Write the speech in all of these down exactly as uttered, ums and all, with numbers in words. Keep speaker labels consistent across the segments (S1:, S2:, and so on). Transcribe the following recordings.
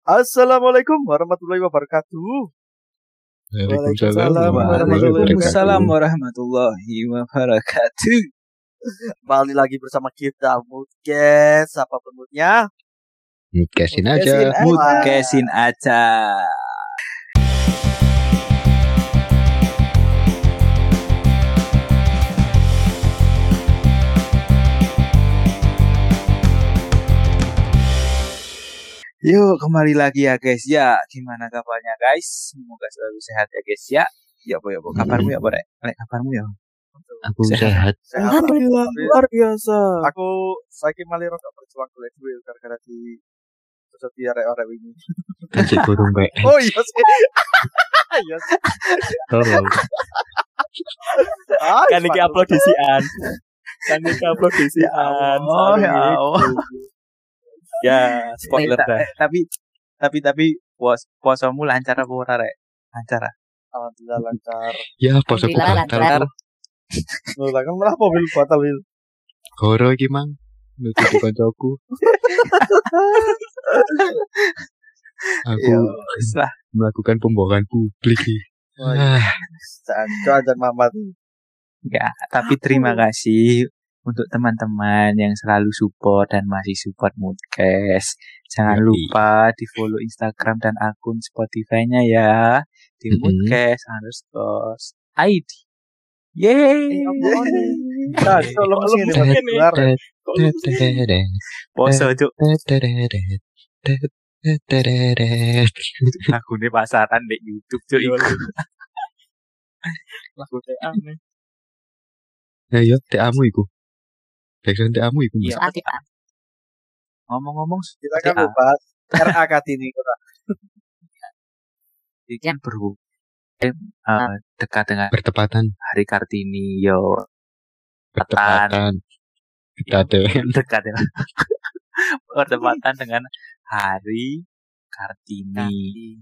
S1: Assalamualaikum warahmatullahi wabarakatuh.
S2: Waalaikumsalam
S3: Waalaikumsalam warahmatullahi wabarakatuh.
S1: Kembali lagi bersama kita Moodcast. Apa penutnya?
S2: Moodcastin aja.
S3: Moodcastin aja. Yuk kembali lagi ya guys ya. Gimana kabarnya guys? Semoga selalu sehat ya guys ya. Ya boy, ya boy. Kabarmu ya boy. Lek kabarmu ya.
S2: Aku sehat.
S1: Alhamdulillah luar biasa. Aku saiki malah rada berjuang golek duit gara-gara di terus arek-arek ini.
S2: Kasih burung P S.
S1: Oh iya sih. Iya sih.
S2: Tolong.
S4: Kan iki upload disian. Kan iki upload disian.
S3: Oh ya Allah.
S4: Ya, spoiler dah.
S3: Tapi tapi tapi puas puasamu lancar apa ora rek? Lancar.
S1: Alhamdulillah lancar.
S2: Ya, posoku batal.
S1: Lho lah kan malah mobil batal wil.
S2: Goro iki mang. Nututi kancaku. Aku
S3: lah
S2: melakukan pembohongan publik.
S1: Ah, jangan Mamat.
S3: Enggak, tapi terima kasih untuk teman-teman yang selalu support dan masih support Moodcast. Jangan
S2: Yoi.
S3: lupa di follow Instagram dan akun Spotify-nya ya. Di
S2: Mm-mm.
S3: Moodcast underscore I D. Yeay.
S1: Nah, tolong sini Mas.
S3: Poso cuk. Aku di pasaran di YouTube cuk iku.
S4: Lagu T A nih.
S2: Ayo, teamu iku. Background teamu iku.
S3: Iya. Ngomong-ngomong
S1: Kita kan bahas R A Kartini kota.
S3: ini kan berhubung uh, dekat dengan
S2: Bertepatan,
S3: Hari Kartini yo
S2: bertepatan. Kita dengan
S3: dekat ya. Bertepatan dengan Hari Kartini.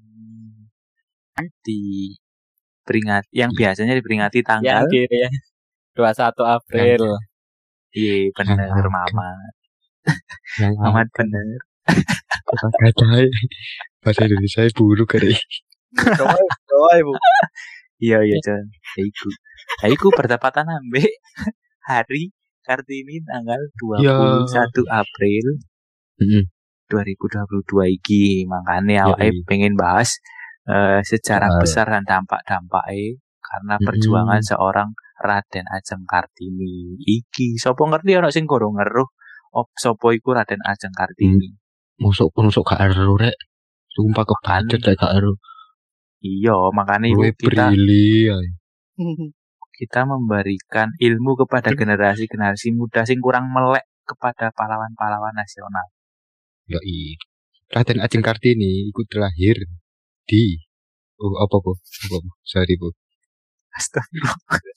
S3: Di peringat yang biasanya diperingati tanggal
S4: Yang kiri ya. dua puluh satu April.
S3: iya bener
S2: Yang
S3: Mamat.
S2: yang
S3: Mamat bener.
S2: kata kata bahasa Indonesia buruk kali.
S1: Doa, doa Ibu.
S3: Iya iya John. Ya iku. Ya iku bertepatan ambek Hari Kartini tanggal dua puluh satu April
S2: Heeh.
S3: dua ribu dua puluh dua iki. Makane
S2: Iya,
S3: awake
S2: iya.
S3: pengen bahas uh, sejarah
S2: Soal.
S3: besar dan dampak-dampaknya karena
S2: Mm-mm.
S3: perjuangan seorang Raden Ajeng Kartini iki. Sopo ngerti ana sing gorong ngeruh op sopo iku Raden Ajeng Kartini.
S2: Musuk musuk gak ero rek. Sumpah kebacut lek gak ero.
S3: Iya, makanya iku
S2: Kowe
S3: kita
S2: brili ae.
S3: kita memberikan ilmu kepada generasi-generasi muda sing kurang melek kepada pahlawan-pahlawan nasional.
S2: Yoi. Raden Ajeng Kartini ikut terlahir di oh apa bu? Apa bu? Sorry bu.
S3: Astagfirullah.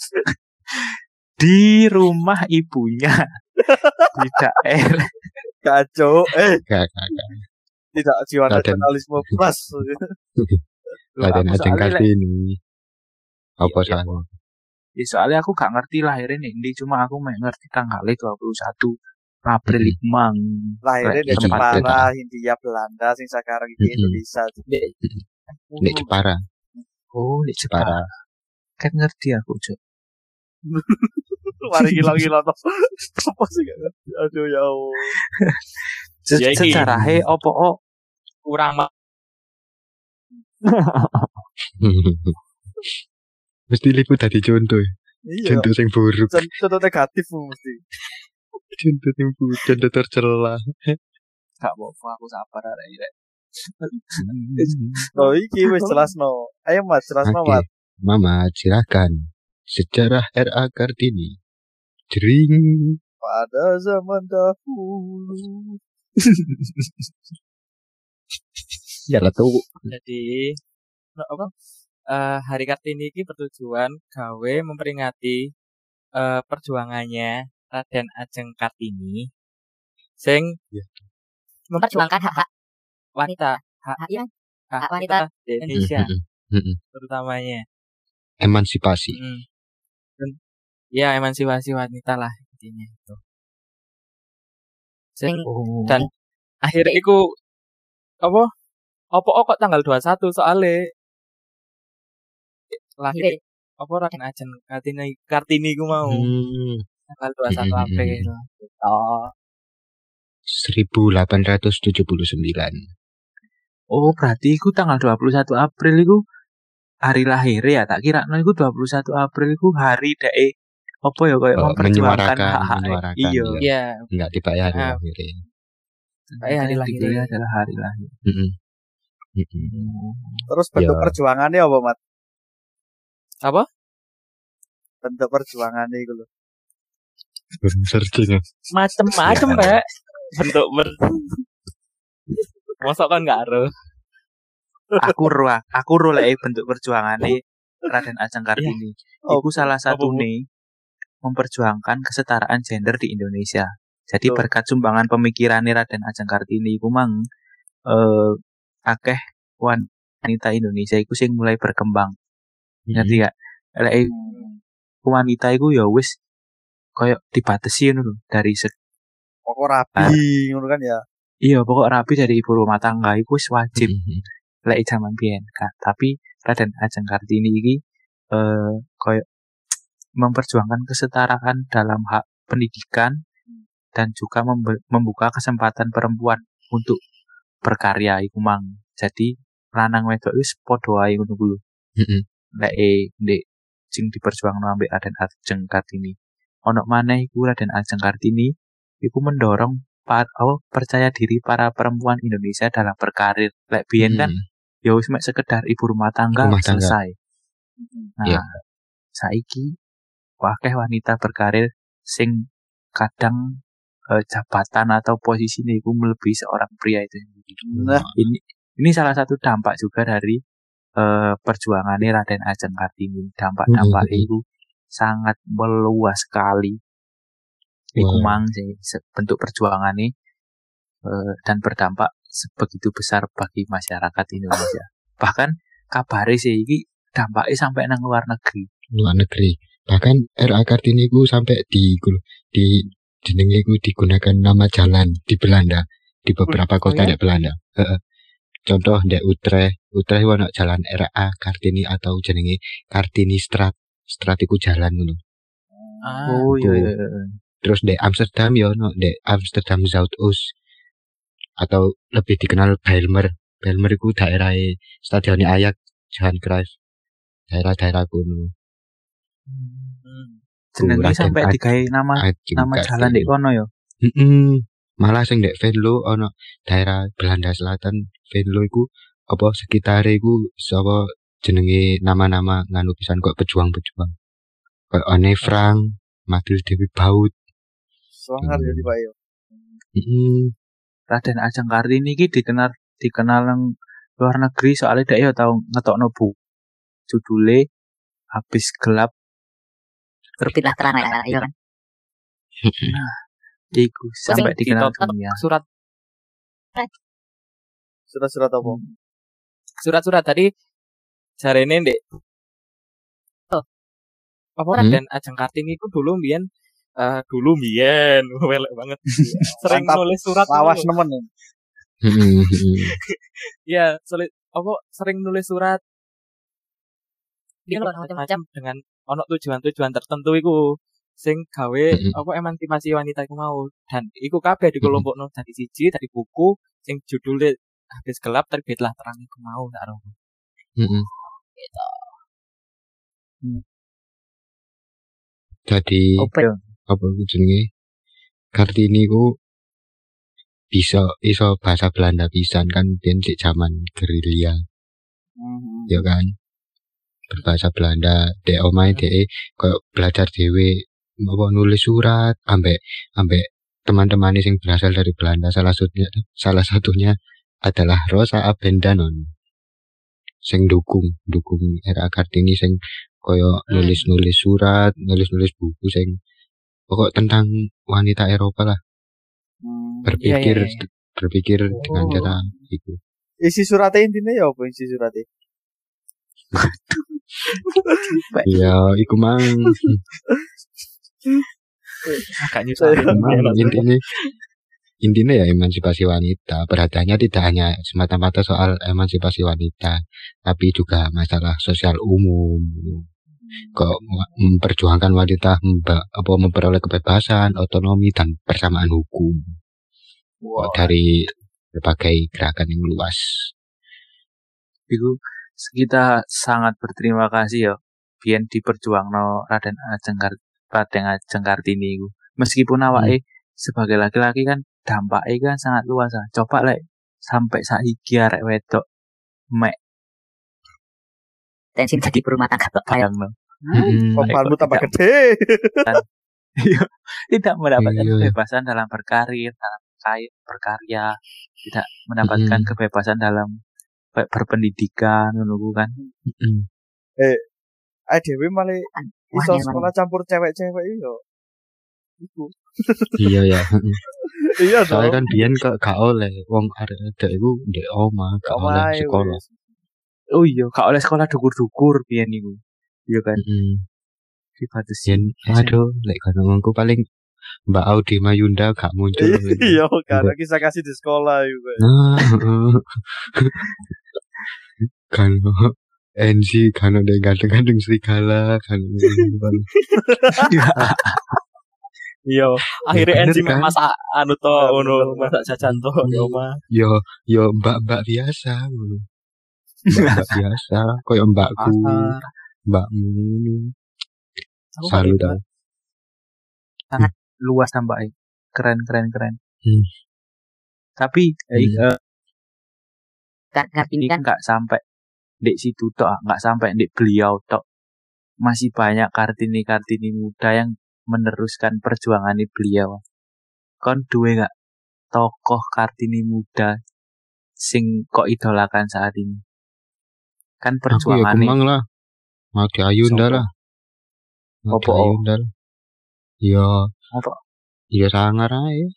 S3: Di rumah ibunya di daerah
S1: Kacau. Eh,
S2: Gak gak gak.
S1: tidak jiwa
S2: Raden.
S1: nasionalisme plus.
S2: Raden
S3: Aku
S2: Ajeng
S3: soalnya lek-
S2: Kartini. Apa
S3: Iya,
S2: salah?
S3: Ya, soalnya aku gak ngerti lahirnya nih, cuma aku mek ngerti tanggalnya dua puluh satu April
S2: Mhm.
S3: iku mang.
S1: Lahirnya
S3: Lek
S1: di
S2: Iki,
S3: tempat-
S1: Jepara, Hindia Belanda, sing sekarang di
S2: Mm-mm.
S1: Indonesia.
S2: Nek Jepara,
S3: Oh, di Jepara.
S2: Jepara.
S3: Kan ngerti aku, Cuk.
S1: Mari hilang-hilang toh. Apa sih gak ngerti? Aduh ya Allah.
S3: Se-
S4: Ya, iki.
S3: Sejarahe opo oh,
S4: Kurang ma-
S2: Mesti liput tadi contoh.
S1: Iya.
S2: Contoh sing buruk.
S1: Con- Contoh negatif mesti.
S2: Contoh sing buruk. Contoh tercela.
S3: gak apa-apa aku sabar arek rek.
S1: Oh iki wis jelasno. Ayo Mas, jelasno
S2: Oke.
S1: Mas.
S2: Mama, silakan. Sejarah R A Kartini. Jering.
S1: Pada zaman dahulu.
S2: Ya lah tuh.
S4: Jadi no, apa? Eh, Hari Kartini ini bertujuan gawe memperingati eh, perjuangannya Raden Ajeng Kartini sing
S2: Ya.
S4: memperjuangkan hak-hak wanita, hak
S5: Hak, iya.
S4: hak
S5: Hak wanita
S4: di Indonesia
S2: Mm-mm. Mm-mm.
S4: terutamanya.
S2: Emansipasi.
S4: Mm. Dan, ya emansipasi wanita lah intinya itu. Sing
S5: Sing-
S3: Oh.
S4: dan akhirnya iku apa Opo kok tanggal dua puluh satu soalnya lahir apa Raden Ajeng Kartini Kartini ku mau
S2: Hmm.
S4: tanggal dua puluh satu April.
S3: Oh,
S2: seribu delapan ratus tujuh puluh sembilan.
S3: oh berarti iku tanggal dua puluh satu April iku hari lahir ya. Tak kira no iku dua puluh satu April iku hari dae apa ya kayak
S2: Oh,
S3: memperjuangkan
S2: menyuarakan,
S3: hak-hak.
S2: menyuarakan,
S3: Iya.
S2: iya.
S4: Iya,
S2: Enggak dibayar
S4: Ah.
S2: lahirnya.
S4: kayak hari lahir.
S3: Dikira adalah hari lahir.
S2: Heeh. Heeh.
S1: Terus bentuk
S2: Ya.
S1: perjuangannya apa, Mat?
S4: Apa?
S1: Bentuk perjuangannya itu loh.
S2: Searching.
S4: Macem-macem, Pak. Bentuk ber Mosok kan enggak ero.
S3: Aku ro, aku ro lek bentuk perjuangane Raden Ajeng Kartini.
S1: Oh,
S3: Iku salah satu
S4: Bu?
S3: nih memperjuangkan kesetaraan gender di Indonesia. Jadi
S1: Betul.
S3: berkat sumbangan pemikirannya Raden Ajeng Kartini iku mang eh akeh wanita Indonesia iku sing mulai berkembang. Ngerti gak? Lek wanita iku ya wis koyo dibatasi ngono lho dari se-
S1: Pokok rapi ngono kan ya.
S3: iya pokok rapi dari ibu rumah tangga iku wis wajib
S2: Heeh.
S3: lek jaman biyen kan. Tapi Raden Ajeng Kartini iki eh koyo memperjuangkan kesetaraan dalam hak pendidikan dan juga membe- membuka kesempatan perempuan untuk berkarya iku mang. Jadi lanang wedok wis padha ae ngono kuwi lho.
S2: Heeh.
S3: Lek eh ndek sing diperjuangno ambek Raden Ajeng Kartini. Ono maneh iku Raden Ajeng Kartini iku mendorong par, oh, percaya diri para perempuan Indonesia dalam berkarir. Lek biyen kan ya wis mek sekedar ibu rumah tangga
S2: Rumah tangga.
S3: selesai. Nah,
S2: Iya.
S3: saiki wakeh wanita berkarir sing kadang eh, jabatan atau posisinya itu melebihi seorang pria itu sendiri.
S1: Nah,
S3: Ini ini salah satu dampak juga dari eh, perjuangannya Raden Ajeng Kartini. Dampak-dampak
S2: Mhm.
S3: itu sangat meluas sekali. Iku
S2: Wow.
S3: mang sih se- bentuk perjuangannya eh, dan berdampak sebegitu besar bagi masyarakat Indonesia. Bahkan kabare sih iki dampaknya sampai nang luar negeri.
S2: Luar negeri. Bahkan R A Kartini ku sampai di iku lho, di jenenge ku digunakan nama jalan di Belanda, di beberapa kota
S1: ya?
S2: di Belanda. Heeh. Contoh di Utrecht, Utrecht ono jalan R A Kartini atau jenenge Kartini Straat. Straat iku jalan ngono.
S4: Ah,
S3: Oh
S2: itu.
S3: iya. iya, iya.
S2: Terus di Amsterdam ya ono di Amsterdam Zuidoost atau lebih dikenal Bijlmer. Bijlmer iku daerah stadion Ajax, Johan Cruyff. Daerah-daerah kuno.
S4: hmm.
S3: Jenenge
S2: Raden
S3: sampai
S2: Ajeng
S3: digawe nama
S2: Ajeng
S3: nama jalan
S2: Kartini.
S3: di kono ya.
S2: Heeh. Malah sing ndek Venlo ono daerah Belanda Selatan. Venlo iku apa sekitare iku sapa jenenge nama-nama nganu pisan kok pejuang-pejuang. Kayak Anne Frank, Mathilde Dewi Baut.
S1: Sangar ya di Pak yo.
S2: Heeh.
S3: Raden Ajeng Kartini iki dikenal dikenal nang luar negeri soalnya dia ya tau ngetokno bu judule Habis Gelap
S5: Terbitlah terang ya, iya kan?
S3: iku sampai
S4: Sing
S3: dikenal
S4: ditotot
S3: dunia.
S4: surat
S1: Surat-surat apa?
S4: surat-surat tadi jarene ndek oh, apa
S2: Hmm?
S4: Raden Ajeng Kartini itu dulu mbiyen eh dulu mbiyen welek banget. Sering
S1: Mantap.
S4: nulis surat
S1: Lawas
S4: dulu.
S1: nemen. ya.
S2: Heeh. heeh.
S4: Iya, sulit apa sering nulis surat
S5: Dia loh macam-macam.
S4: dengan ono tujuan-tujuan tertentu iku sing gawe
S2: Mm-mm.
S4: apa emansipasi wanita iku mau dan iku kabeh dikelompokno dadi siji dari buku sing judulnya Habis Gelap Terbitlah Terang iku mau tak ero.
S2: Heeh. Jadi
S3: Apa ya?
S2: apa iku jenenge? Kartini ku bisa iso bahasa Belanda pisan kan biyen di zaman gerilya,
S1: Mhm.
S2: ya kan? Berbahasa Belanda, dek omahe dek koyo belajar dhewe apa nulis surat ambek ambek teman-teman sing berasal dari Belanda salah satunya salah satunya adalah Rosa Abendanon sing dukung dukung R A Kartini sing koyo
S4: Hmm.
S2: nulis-nulis surat, nulis-nulis buku sing pokok tentang wanita Eropa lah,
S1: Hmm.
S2: berpikir
S4: Iya, iya, iya.
S2: berpikir dengan
S1: Oh.
S2: cara itu.
S1: Isi suratnya intinya ya apa isi suratnya?
S2: Ya, iku mang
S4: Agak nyusah.
S2: mang intine intinya ya emansipasi wanita. Perhatiannya tidak hanya semata-mata soal emansipasi wanita, tapi juga masalah sosial umum. Kok memperjuangkan wanita memba, apa memperoleh kebebasan, otonomi dan persamaan hukum. Wow. Dari berbagai gerakan yang luas.
S3: Iku kita sangat berterima kasih ya biyen diperjuangno Raden Ajeng Kartini, Raden Ajeng Kartini iku. Meskipun awake hmm. sebagai laki-laki kan dampaknya kan sangat luas. Coba lek sampai saiki arek wedok mek
S5: tensi jadi berumah tangga kok
S3: bayangno.
S1: Kompanmu tambah gede.
S3: Tidak mendapatkan kebebasan dalam berkarir, dalam berkarya, tidak mendapatkan mm. kebebasan dalam berpendidikan, menunggu kan.
S1: Mm. Eh, A D W malah iso sekolah campur cewek-cewek iyo. Iku.
S2: Iya ya.
S1: Iya dong.
S2: Soalnya kan biyen kok gak oleh wong arek iku ndek omah, gak oleh sekolah.
S3: Oh iya, gak oleh sekolah dukur-dukur biyen iku. Iya kan.
S2: Heeh.
S3: Dibatasin.
S2: Aduh, lek kono ngku paling Mbak Audi Mayunda gak muncul.
S1: Iya, karena kisah kasih di sekolah juga.
S2: Nah, kan N C kan udah ganteng-ganteng serigala kan.
S4: Iya, akhirnya N C masak anu to ngono, masak jajan to ya omah.
S2: Yo yo mbak-mbak biasa ngono. Mbak biasa, koyo mbakku. Mbakmu. Salut tau.
S3: Sangat luas tambah keren keren keren.
S2: Hmm.
S3: Tapi
S2: hmm.
S3: eh, uh, ini kan nggak sampai di situ tok, nggak sampai di beliau tok. Masih banyak Kartini-Kartini muda yang meneruskan perjuangan beliau. Kon duwe nggak tokoh Kartini muda sing kok idolakan saat ini? Kan perjuangan
S2: ini. Aku ya lah. Mau di Ayunda lah. Mau di Ayunda lah. Iya.
S3: Apa?
S2: Iya sangar aja.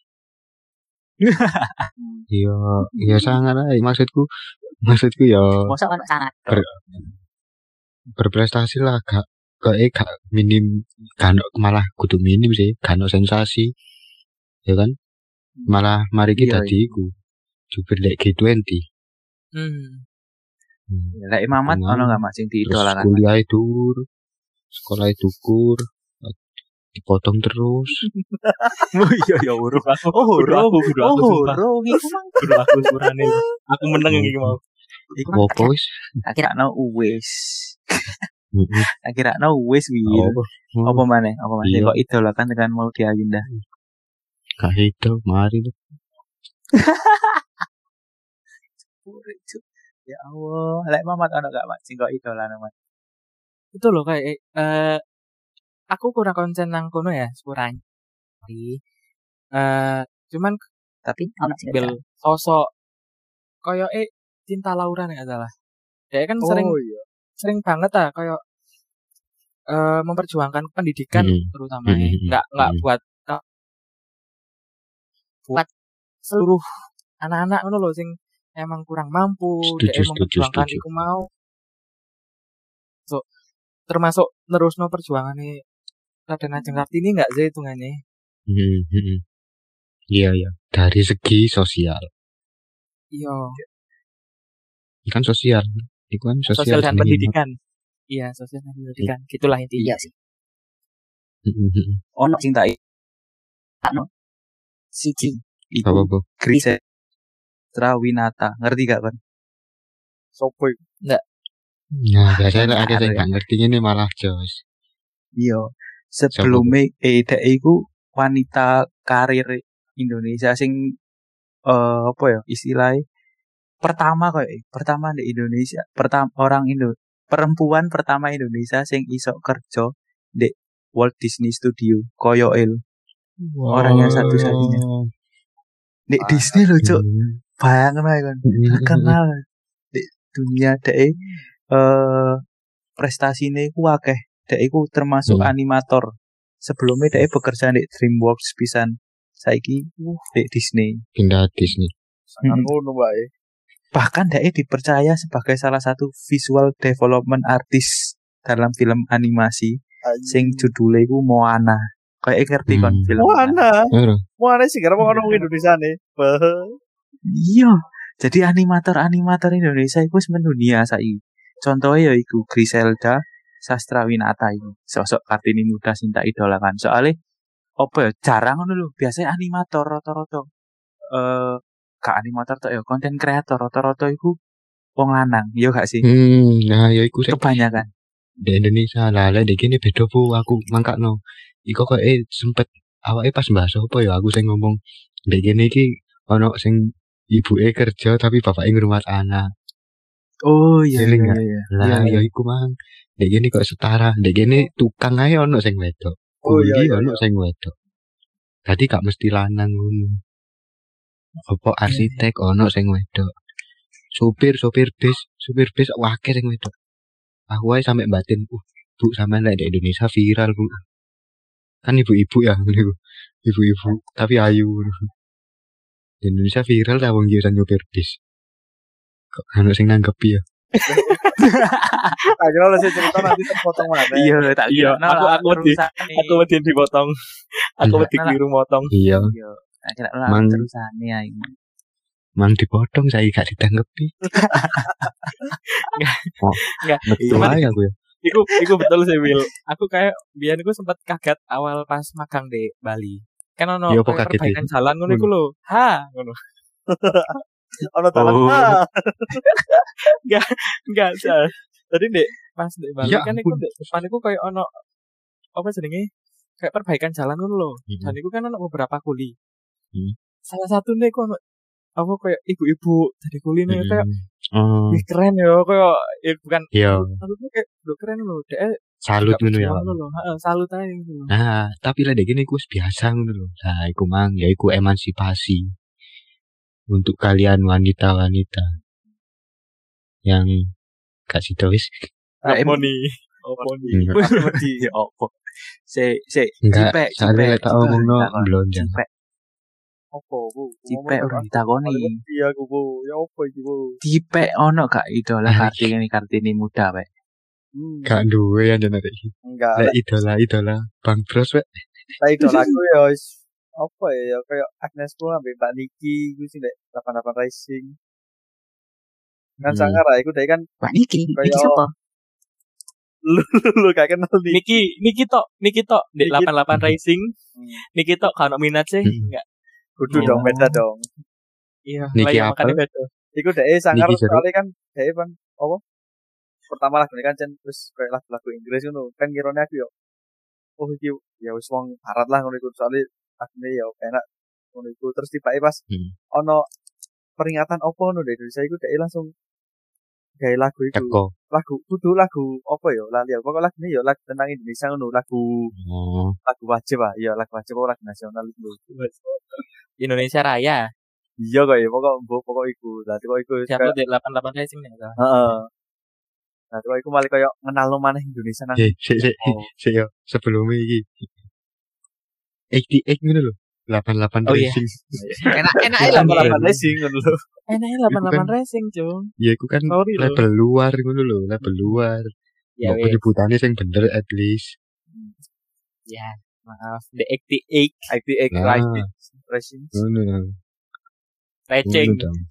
S2: Iya, iya sangar aja. Maksudku, maksudku ya.
S5: Masa kan sangat.
S2: Ber, berprestasi lah, gak, gak, eh, gak minim, gak malah kudu minim sih, gak sensasi, ya kan? Malah mari kita di iku, jubir lek G dua puluh.
S3: Hmm. Lek Imamat ono gak Mas sing diidolakan?
S2: Kuliah dur, sekolah dukur. Dipotong terus.
S4: Oh iya ya urung aku. Oh urung aku kudu aku sumpah. Oh iku mang kudu aku surane. Aku meneng iki mau.
S3: Iku opo wis? Akhirnya wis. Akhirnya wis wir. Apa maneh? Apa maneh kok idolakan dengan mau di Ayunda?
S2: Gak itu, mari lu.
S3: Ya Allah, lek Mamat ono gak Mas sing kok idolan Mas?
S4: Itu loh kayak eh aku kurang konsen nang kono ya, kurang. Tapi uh, cuman
S5: tapi
S4: ambil sosok koyo eh Cinta Laura nek salah. Dia kan oh, sering iya. sering banget ah koyo uh, memperjuangkan pendidikan hmm. terutama hmm. enggak enggak hmm. buat uh, buat seluruh anak-anak ngono lho sing emang kurang mampu, dia memperjuangkan iku mau. So, termasuk nerusno perjuangane Raden Ajeng Kartini enggak sih hitungannya?
S2: Hmm, hmm. Iya ya, dari segi sosial.
S4: Iya.
S2: Kan sosial, itu kan sosial,
S4: sosial dan pendidikan. Iya, sosial dan pendidikan. I- Gitulah intinya.
S5: Iya sih.
S3: Ono sing tak ono. Siji.
S2: Apa Bu?
S3: Grise Trawinata, ngerti gak kan?
S1: Sopo?
S4: Enggak.
S2: Nah, biasanya ada yang gak ngerti ini malah jos.
S3: Iya. Sebelumnya eh dek iku wanita karir Indonesia sing uh, apa ya istilahnya pertama kok pertama di Indonesia pertama orang Indo perempuan pertama Indonesia sing iso kerja di Walt Disney Studio koyo el wow. Orang yang satu-satunya di ah, Disney loh cok bayangin aja kan kenal di dunia dek uh, prestasinya ku akeh. Dek iku termasuk hmm. animator. Sebelumnya dek bekerja di DreamWorks pisan. Saiki uh, di Disney.
S2: Pindah Disney.
S1: Sangat ngono bae.
S3: Bahkan dek dipercaya sebagai salah satu visual development artist dalam film animasi Ayu. Sing judulnya iku Moana. kayak ngerti kon
S2: Hmm.
S3: film.
S1: Mana?
S2: Ora.
S1: Mana sih karena mau ngomong Indonesia nih.
S3: Iya. Jadi animator-animator Indonesia itu wis mendunia saiki. Contohnya ya iku Griselda Sastrawinata ini. Sosok Kartini muda sing tak idolakan. Soalnya apa ya jarang ngono lho. Biasanya animator rata-rata eh gak animator tok ya konten kreator rata-rata iku wong lanang. Iya gak sih?
S2: Hmm, nah ya iku sik
S3: Kebanyakan.
S2: di Indonesia lah lah dek kene beda bu aku mangkakno. Iku kok eh sempet awake pas bahas apa ya aku sing ngomong dek kene iki ono sing ibuke kerja tapi bapake ngrumat anak.
S3: Oh iya
S2: Eling
S3: iya
S2: gak?
S3: iya.
S2: Lah
S3: Iya,
S2: ya iku mang. Dek kene kok setara, dek kene tukang ae ono sing wedok.
S1: Oh, iya,
S2: Kuli
S1: iya,
S2: ono
S1: iya.
S2: sing wedok. Dadi gak mesti lanang ngono. Apa arsitek ono sing wedok. Supir, supir bis, supir bis akeh sing wedok. Aku ae sampe batin, uh, Bu sampean lek di Indonesia viral, Bu. Kan ibu-ibu ya, niku. Ibu-ibu, tapi ayu. Di Indonesia viral ta wong iki nyupir bis. Kok ono sing nanggepi ya?
S1: Akhirnya lo sih cerita nanti terpotong mana?
S3: Iya, tak
S1: Iya,
S3: kira
S1: aku- aku wedi- Aku wedi dipotong. Aku
S2: Enggak.
S1: wedi keliru motong.
S2: Iya,
S3: Iya, tak kira lah
S2: Mang-
S3: terusane ae.
S2: mang dipotong saya gak ditanggepi. Oh,
S4: Enggak.
S2: betul
S4: Cuman
S2: aja aku ya.
S4: Iku, iku betul sih Will. Aku kayak biar aku sempat kaget awal pas magang di Bali. Kan ono
S2: Iya, apa
S4: kayak
S2: kaget,
S4: perbaikan jalan ngono iku lho. Ha, ngono.
S1: Ono talan.
S3: Oh.
S1: Ah.
S4: Enggak sah. Tadi Dek, pas di Bali
S2: Ya
S4: kan iku
S2: ampun.
S4: Dek, depan iku kayak ono apa jenenge? Kayak perbaikan jalan ngono lho.
S2: Mhm.
S4: Dan iku kan ono beberapa kuli.
S2: Hmm.
S4: Salah satu nih iku ono apa kayak ibu-ibu dari kuli nih kayak
S2: Oh,
S4: wih keren ya kayak ya bukan
S2: iya,
S4: maksudnya kayak udah keren loh dek
S2: salut
S4: gak
S2: ngono ya.
S4: berjuang loh heeh, salut aja gitu loh.
S2: Nah, tapi lah dek ini iku wis biasa ngono lho. Nah, iku mang ya iku emansipasi untuk kalian wanita-wanita yang gak sida wis.
S3: Lah,
S4: Apa
S3: em-
S4: nih apa nih
S2: Enggak.
S3: Wis wedi ya apa. Se se
S2: Enggak,
S3: cipek
S2: soalnya lek tak omongno
S3: ditakoni.
S2: blonjang.
S3: Cipek
S1: Apa bu?
S3: cipek udah ditakoni.
S1: Iya aku bu. Ya apa iki bu?
S3: Cipek ono gak idola
S2: Ah,
S3: Kartini Kartini muda wae.
S1: Hmm.
S2: Gak duwe ya jenenge iki.
S1: Enggak.
S2: Lek idola-idola Bang Bros wek.
S1: Lah itu lagu ya wis apa ya ya kayak Agnes Mo ambek Mbak Niki iku sing nek delapan delapan Racing. Kan
S2: Hmm.
S1: sangar lah iku dhek kan
S5: Wah, Niki,
S1: Kayak-
S5: Niki siapa?
S1: lu lu gak kenal nih.
S4: Niki Niki tok Niki tok di
S1: Niki-
S4: delapan puluh delapan Racing
S1: Hmm.
S4: Niki tok kalau minat sih
S2: Hmm.
S4: enggak
S1: Kudu
S4: Oh.
S1: dong beda dong.
S4: iya
S2: Niki
S4: lah ya,
S2: apa?
S4: makanya beda
S1: Iku dhek sangar
S2: Niki Zero.
S1: soalnya kan dhek kan apa? Pertama lagu ini kan cen terus kayak lagu-lagu Inggris ngono. Kan ngirone aku yo. Oh iki ya wis wong barat lah ngono iku soalnya lagune ya enak ngono iku terus tiba-tiba pas
S2: Hmm.
S1: ono peringatan opo ngono di Indonesia iku dhek langsung gawe lagu iku.
S2: Teko.
S1: Lagu kudu lagu apa ya lali aku pokok lagu ini ya lagu tentang Indonesia ngono lagu
S2: Oh,
S1: lagu wajib ah iya lagu wajib apa lagu nasional itu
S4: Indonesia Raya
S1: iya kok ya pokok mbok pokok iku dadi kok iku
S4: siapa
S1: kayak-
S4: di delapan puluh delapan Racing nih salah.
S1: heeh nah kok iku malah koyo ngenalno maneh Indonesia nang
S2: eh, sik sik
S1: oh
S2: sik yo sebelum iki. delapan puluh delapan ngono lho. delapan puluh delapan
S4: Oh, iya.
S2: Racing.
S5: Enak enak
S1: iya
S5: aja
S1: malah
S5: lah.
S1: pandai sing ngono lho
S4: enaknya delapan puluh delapan
S2: Itu kan-
S4: Racing cung
S2: Ya iku kan
S4: Sorry lho.
S2: label luar ngono lho, label luar.
S4: ya
S2: Mbok
S4: wes
S2: penyebutannya sing bener at least.
S4: ya maaf the eighty-eight
S1: I T X
S2: Nah.
S1: Racing
S2: Ngono lho.
S4: Racing
S2: Ngono dong.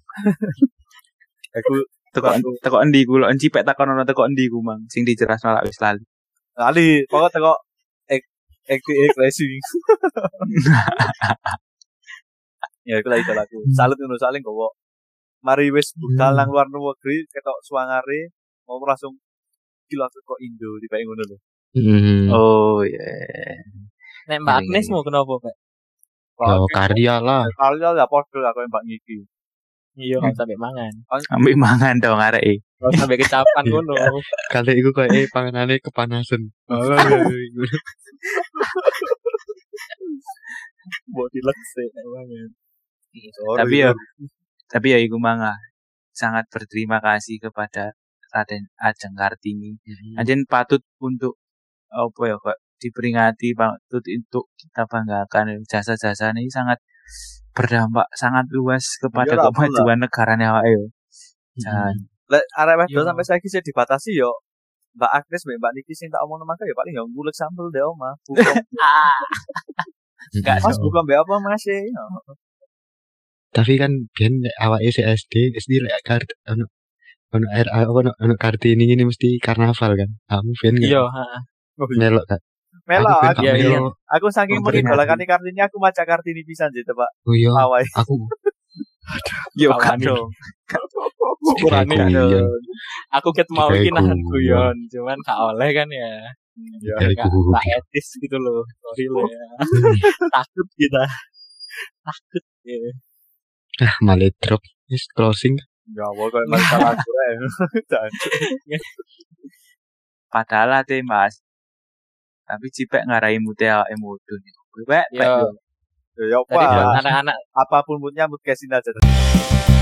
S1: aku
S3: Teko teko endi ku lho cipek takon ono teko endi ku mang sing dijerasno lak wis lali.
S1: lali pokok teko I T X Racing ya iku lah itu lagu salut ngono saling gowo mari wis budal
S2: Hmm.
S1: nang luar negeri ketok suangare mau langsung gila kok Indo tiba ngono lho
S2: Hmm.
S3: Oh iya.
S4: nek Mbak
S3: Ngeri,
S4: Agnes
S3: ngeri.
S4: mau kenapa Pak
S2: Ya karya lah.
S1: Karya ya podo lah koyo Mbak Niki.
S4: iya nggak sampai mangan
S3: Ambek mangan dong arek e.
S4: nggak sampai kecapan ngono
S2: Kali iku koyo eh panganane kepanasan.
S4: buat dilekse mangan
S3: Tapi ya tapi ya iku mangga sangat berterima kasih kepada Raden Ajeng Kartini. Anjen patut untuk apa ya kok diperingati patut untuk kita banggakan jasa-jasa ini sangat berdampak sangat luas kepada
S1: Iya lah,
S3: kemajuan negaranya awake yo. Jangan
S1: Lek arek wedok
S4: Yo.
S1: sampai saiki sih dibatasi yo Mbak Agnes, Mbak Niki sing tak omong maka ya paling ya nguleg sambel deh omah. Buka.
S3: Ah,
S2: Enggak.
S1: Mas buka mbak apa Mas e?
S2: Tapi kan ben lek awake S D, S D lek kart ono ono R A ono ono Kartini ini mesti karnaval kan. Kamu ben enggak?
S4: Iya, heeh.
S2: Melok kan.
S1: Melo
S2: Aku ben
S1: aku.
S2: gak
S4: Iya, iya.
S2: melo.
S1: Aku saking
S2: Komponen
S1: mengidolakan Kartini aku maca Kartini pisan sih, Pak.
S2: Oh iya,
S1: Awai.
S2: aku
S4: Yo
S1: Awan
S4: kan
S1: dong.
S4: ukurannya
S2: Kayak
S4: kan.
S2: guyon.
S4: Aku ket mau
S2: Kayak
S4: iki nahan
S2: guyon.
S4: guyon, cuman gak oleh kan ya. Ya
S2: Kayak
S4: gak
S2: guyon.
S4: tak etis gitu loh. Sorry lo ya. Takut kita. Takut ya.
S2: ah malah drop wis closing.
S1: Ya pokoknya masalah aku ae.
S3: padahal ate Mas. Tapi cipek ngarai mute awake mudun. Wek,
S4: Yo.
S1: Ya
S4: Jadi buat
S1: apa?
S4: anak-anak
S1: Apapun moodnya mood kesin aja.